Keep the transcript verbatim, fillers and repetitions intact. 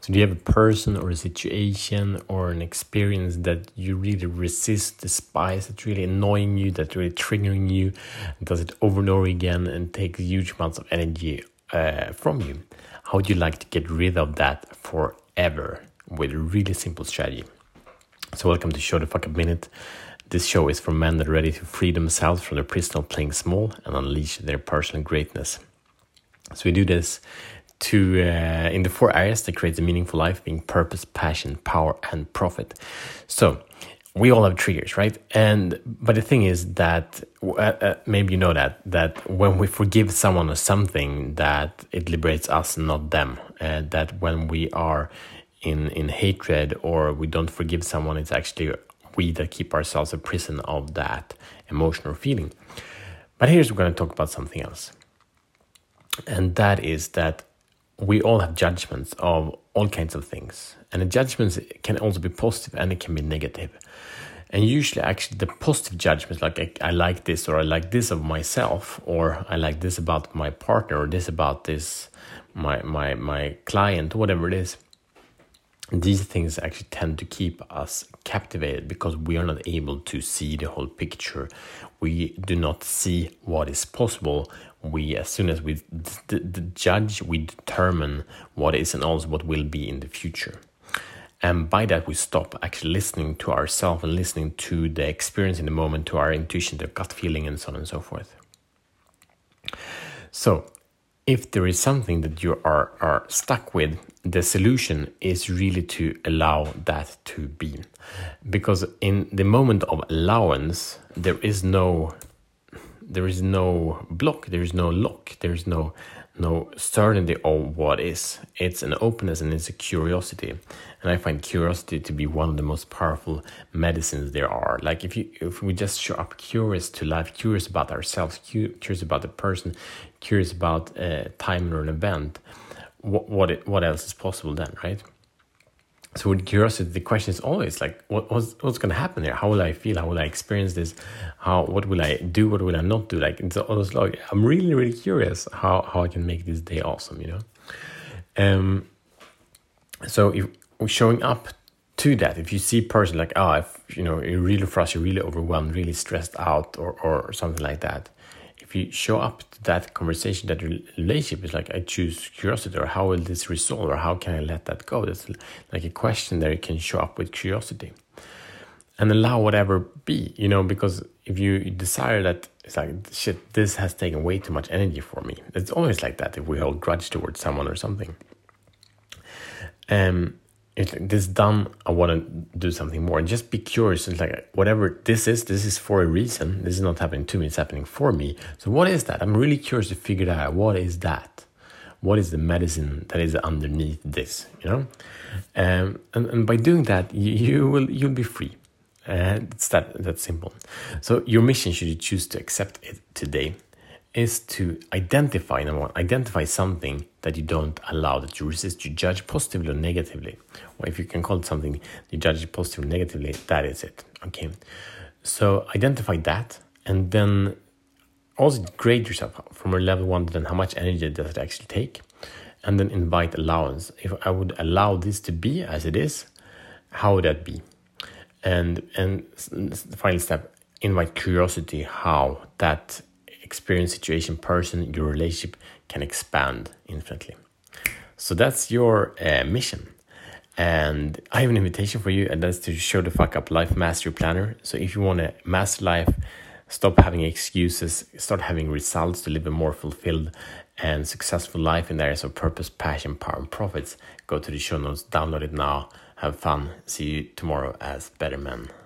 So do you have a person or a situation or an experience that you really resist, despise, that's really annoying you, that's really triggering you, does it over and over again and takes huge amounts of energy uh, from you? How would you like to get rid of that forever with a really simple strategy? So welcome to Show the Fuck Up Minute. This show is for men that are ready to free themselves from the prison of playing small and unleash their personal greatness. So we do this to uh, in the four areas that creates a meaningful life, being purpose, passion, power, and profit. So we all have triggers, right? And but the thing is that uh, uh, maybe you know that that when we forgive someone or something, that it liberates us, not them. Uh, that when we are in in hatred or we don't forgive someone, it's actually we that keep ourselves a prison of that emotional feeling. But here's we're going to talk about something else, and that is that we all have judgments of all kinds of things. And the judgments can also be positive and it can be negative. And usually actually the positive judgments, like I, I like this or I like this of myself, or I like this about my partner, or this about this, my my my client, whatever it is. These things actually tend to keep us captivated because we are not able to see the whole picture. We do not see what is possible. We, as soon as we d- d- judge, we determine what is and also what will be in the future. And by that, we stop actually listening to ourselves and listening to the experience in the moment, to our intuition, the gut feeling, and so on and so forth. So, if there is something that you are, are stuck with, the solution is really to allow that to be. Because in the moment of allowance, there is no there is no block, there is no lock, there is no no certainty of what is. It's an openness and it's a curiosity. And I find curiosity to be one of the most powerful medicines there are. Like if you if we just show up curious to life, curious about ourselves, curious about the person, curious about a time or an event, what what, it, what else is possible then, right? So with curiosity, the question is always like, what, what's, what's going to happen there? How will I feel? How will I experience this? How, what will I do? What will I not do? Like, it's always like, I'm really, really curious how, how I can make this day awesome, you know? Um. So if we're showing up to that, if you see a person like, oh, if, you know, you're really frustrated, really overwhelmed, really stressed out or, or something like that, if you show up to that conversation, that relationship is like, I choose curiosity, or how will this resolve, or how can I let that go? That's like a question that you can show up with curiosity and allow whatever be, you know, because if you desire that, it's like, shit, this has taken way too much energy for me. It's always like that if we hold grudge towards someone or something. Um, It's like, this done, I want to do something more. And just be curious. It's like, whatever this is, this is for a reason. This is not happening to me, it's happening for me. So what is that? I'm really curious to figure that out. What is that? What is the medicine that is underneath this, you know? Um, and, and by doing that, you, you will, you'll be free. And uh, it's that, that simple. So your mission, should you choose to accept it today, is to identify, number one, identify something that you don't allow, that you resist, you judge positively or negatively. Or if you can call it something you judge positively or negatively, that is it. Okay. So identify that, and then also grade yourself from a level one, then how much energy does it actually take? And then invite allowance. If I would allow this to be as it is, how would that be? And and the final step, invite curiosity, how that experience, situation, person, your relationship can expand infinitely. So that's your uh, mission. And I have an invitation for you, and that's to Show the Fuck Up Life Mastery Planner. So if you want to master life, stop having excuses, start having results to live a more fulfilled and successful life in the areas of purpose, passion, power, and profits, go to the show notes, download it now, have fun. See you tomorrow as better men.